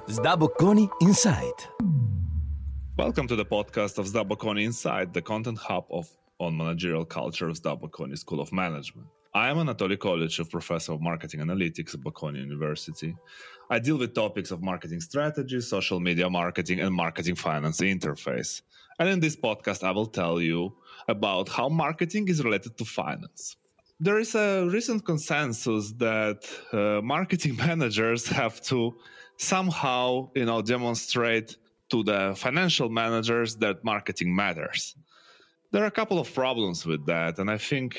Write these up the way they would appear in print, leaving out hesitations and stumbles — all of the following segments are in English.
Sdabocconi Insight. Welcome to the podcast of Sdabocconi Insight, the content hub on managerial culture of Sdabocconi School of Management. I am Anatoly Kolychev, professor of marketing analytics at Bocconi University. I deal with topics of marketing strategy, social media marketing, and marketing finance interface. And in this podcast, I will tell you about how marketing is related to finance. There is a recent consensus that marketing managers have to somehow, demonstrate to the financial managers that marketing matters. There are a couple of problems with that, and I think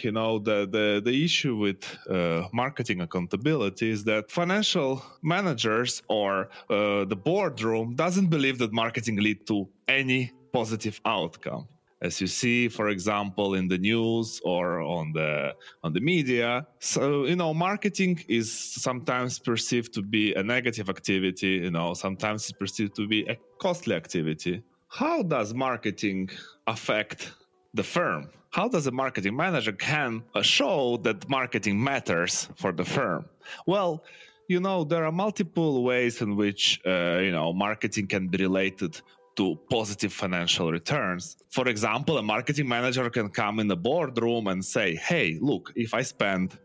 the issue with marketing accountability is that financial managers or the boardroom doesn't believe that marketing lead to any positive outcome. As you see, for example, in the news or on the media, so marketing is sometimes perceived to be a negative activity. Sometimes it's perceived to be a costly activity. How does marketing affect the firm? How does a marketing manager can show that marketing matters for the firm? Well, there are multiple ways in which marketing can be related to positive financial returns. For example, a marketing manager can come in the boardroom and say, hey, look, if I spend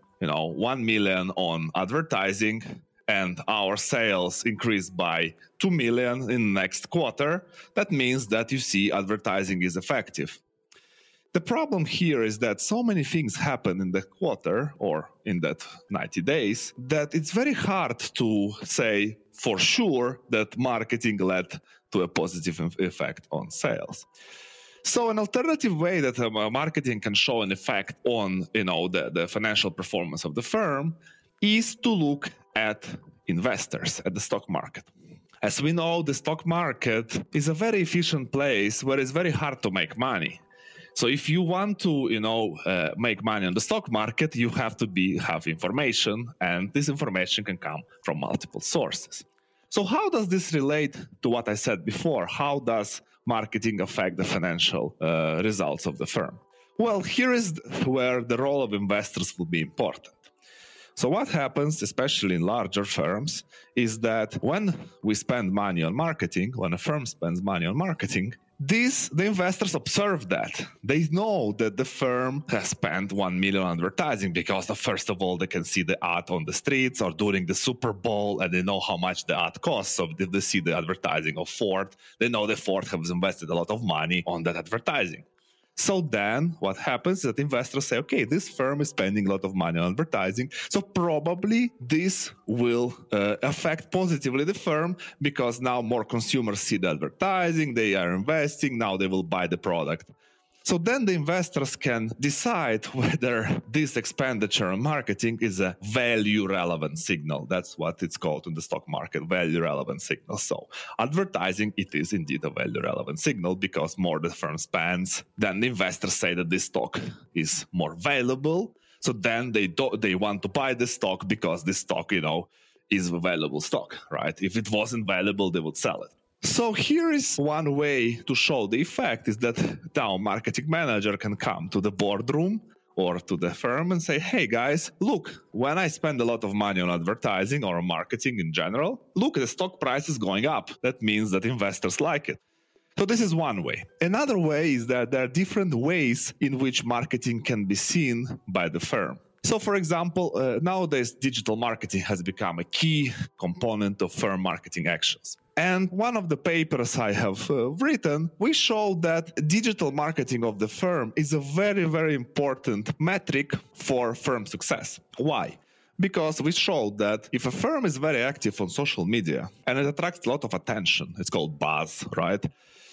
1 million on advertising and our sales increase by 2 million in next quarter, that means that you see advertising is effective. The problem here is that so many things happen in the quarter or in that 90 days that it's very hard to say for sure that marketing led to a positive effect on sales. So an alternative way that marketing can show an effect on the financial performance of the firm is to look at investors, at the stock market. As we know, the stock market is a very efficient place where it's very hard to make money. So if you want to, make money on the stock market, you have to have information, and this information can come from multiple sources. So how does this relate to what I said before? How does marketing affect the financial results of the firm? Well, here is where the role of investors will be important. So what happens, especially in larger firms, is that when we spend money on marketing, when a firm spends money on marketing, the investors observe that. They know that the firm has spent 1 million on advertising because, first of all, they can see the ad on the streets or during the Super Bowl, and they know how much the ad costs. So if they see the advertising of Ford, they know that Ford has invested a lot of money on that advertising. So then what happens is that investors say, okay, this firm is spending a lot of money on advertising, so probably this will affect positively the firm because now more consumers see the advertising, they are investing, now they will buy the product. So then the investors can decide whether this expenditure on marketing is a value-relevant signal. That's what it's called in the stock market, value-relevant signal. So advertising, it is indeed a value-relevant signal because more the firm spends, then the investors say that this stock is more valuable. So then they want to buy the stock because this stock, is a valuable stock, right? If it wasn't valuable, they would sell it. So here is one way to show the effect is that now marketing manager can come to the boardroom or to the firm and say, hey guys, look, when I spend a lot of money on advertising or marketing in general, look, the stock price is going up. That means that investors like it. So this is one way. Another way is that there are different ways in which marketing can be seen by the firm. So, for example, nowadays digital marketing has become a key component of firm marketing actions. And one of the papers I have written, we show that digital marketing of the firm is a very, very important metric for firm success. Why? Because we showed that if a firm is very active on social media and it attracts a lot of attention, it's called buzz, right?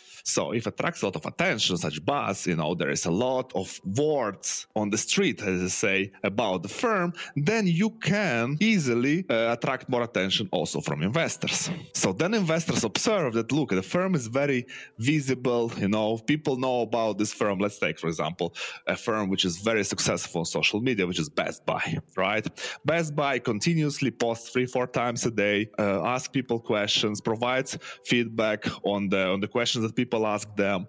So if it attracts a lot of attention, such buzz, there is a lot of words on the street, as I say, about the firm, then you can easily attract more attention also from investors. So then investors observe that, look, the firm is very visible, people know about this firm. Let's take, for example, a firm which is very successful on social media, which is Best Buy, right? Best Buy continuously posts 3-4 times a day, asks people questions, provides feedback on the questions that people ask them.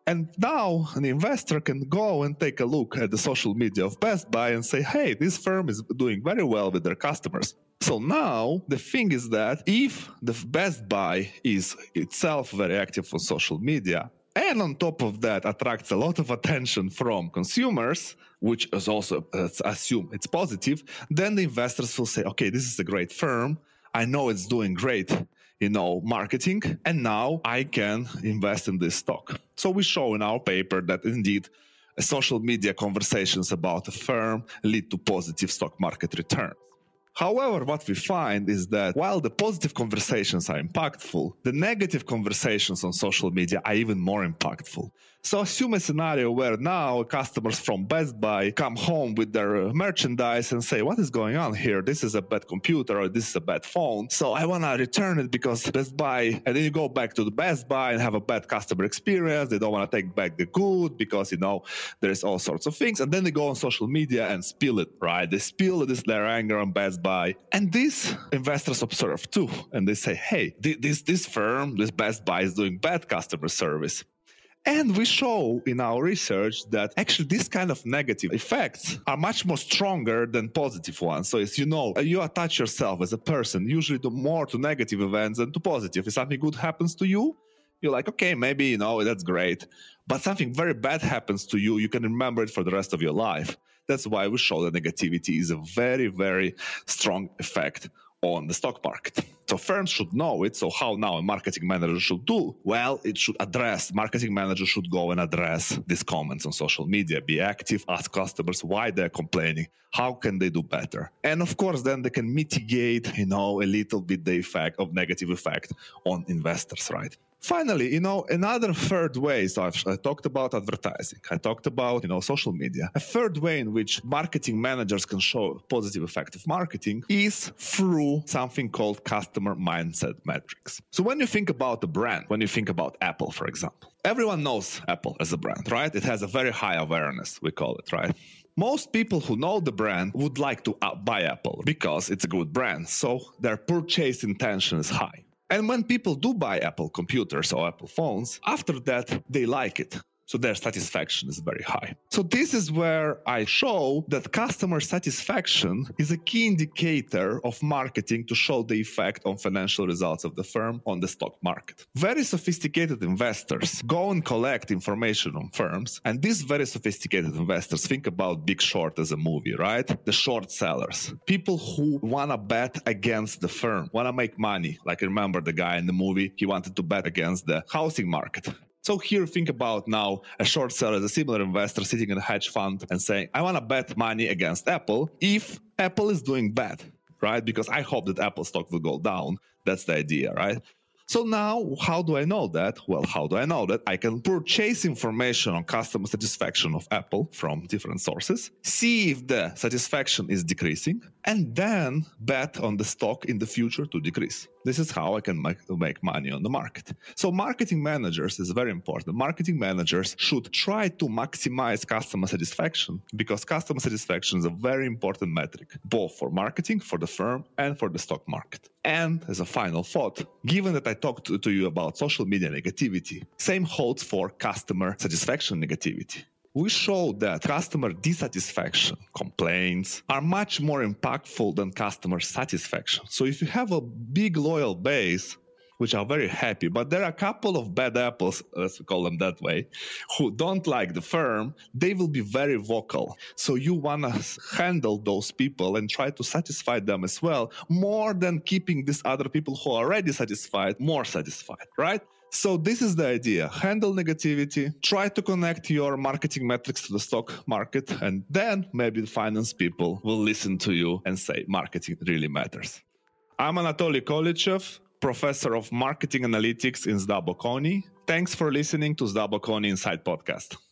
And now an investor can go and take a look at the social media of Best Buy and say, hey, this firm is doing very well with their customers. So now the thing is that if the Best Buy is itself very active on social media, and on top of that attracts a lot of attention from consumers, which is also assume it's positive, then the investors will say, okay, this is a great firm. I know it's doing great, marketing, and now I can invest in this stock. So we show in our paper that indeed social media conversations about a firm lead to positive stock market returns. However, what we find is that while the positive conversations are impactful, the negative conversations on social media are even more impactful. So assume a scenario where now customers from Best Buy come home with their merchandise and say, what is going on here? This is a bad computer or this is a bad phone. So I want to return it because Best Buy, and then you go back to the Best Buy and have a bad customer experience. They don't want to take back the good because, there's all sorts of things. And then they go on social media and spill it, right? They spill their anger on Best Buy. And these investors observe too. And they say, hey, this firm, this Best Buy is doing bad customer service. And we show in our research that actually these kind of negative effects are much more stronger than positive ones. So as you attach yourself as a person usually more to negative events than to positive. If something good happens to you, you're like, okay, maybe, that's great. But something very bad happens to you, you can remember it for the rest of your life. That's why we show that negativity is a very, very strong effect on the stock market. So firms should know it. So how now a marketing manager should do? Well, marketing manager should go and address these comments on social media, be active, ask customers why they're complaining, how can they do better? And of course, then they can mitigate, a little bit the negative effect on investors, right? Finally, another third way, so I talked about advertising, I talked about, social media. A third way in which marketing managers can show positive effect of marketing is through something called customer mindset metrics. So when you think about a brand, when you think about Apple, for example, everyone knows Apple as a brand, right? It has a very high awareness, we call it, right? Most people who know the brand would like to buy Apple because it's a good brand. So their purchase intention is high. And when people do buy Apple computers or Apple phones, after that, they like it. So their satisfaction is very high. So this is where I show that customer satisfaction is a key indicator of marketing to show the effect on financial results of the firm on the stock market. Very sophisticated investors go and collect information on firms. And these very sophisticated investors think about Big Short as a movie, right? The short sellers, people who want to bet against the firm, want to make money. Like remember the guy in the movie, he wanted to bet against the housing market. So here, think about now a short seller as a similar investor sitting in a hedge fund and saying, I want to bet money against Apple if Apple is doing bad, right? Because I hope that Apple stock will go down. That's the idea, right? So now, how do I know that? Well, how do I know that? I can purchase information on customer satisfaction of Apple from different sources, see if the satisfaction is decreasing, and then bet on the stock in the future to decrease. This is how I can make money on the market. So marketing managers is very important. Marketing managers should try to maximize customer satisfaction because customer satisfaction is a very important metric, both for marketing, for the firm, and for the stock market. And as a final thought, given that I talked to you about social media negativity, same holds for customer satisfaction negativity. We show that customer dissatisfaction, complaints, are much more impactful than customer satisfaction. So if you have a big loyal base, which are very happy, but there are a couple of bad apples, let's call them that way, who don't like the firm, they will be very vocal. So you want to handle those people and try to satisfy them as well, more than keeping these other people who are already satisfied, more satisfied, right? So this is the idea. Handle negativity, try to connect your marketing metrics to the stock market, and then maybe the finance people will listen to you and say marketing really matters. I'm Anatoly Kolichev, Professor of Marketing Analytics in Zdabokoni. Thanks for listening to Zdabokoni Inside Podcast.